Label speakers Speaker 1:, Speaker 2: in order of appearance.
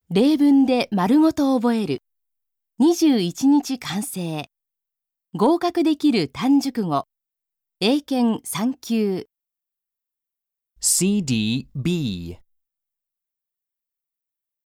Speaker 1: 例文で丸ごと覚える。21日完成。合格できる単熟語。英検3級。
Speaker 2: CDB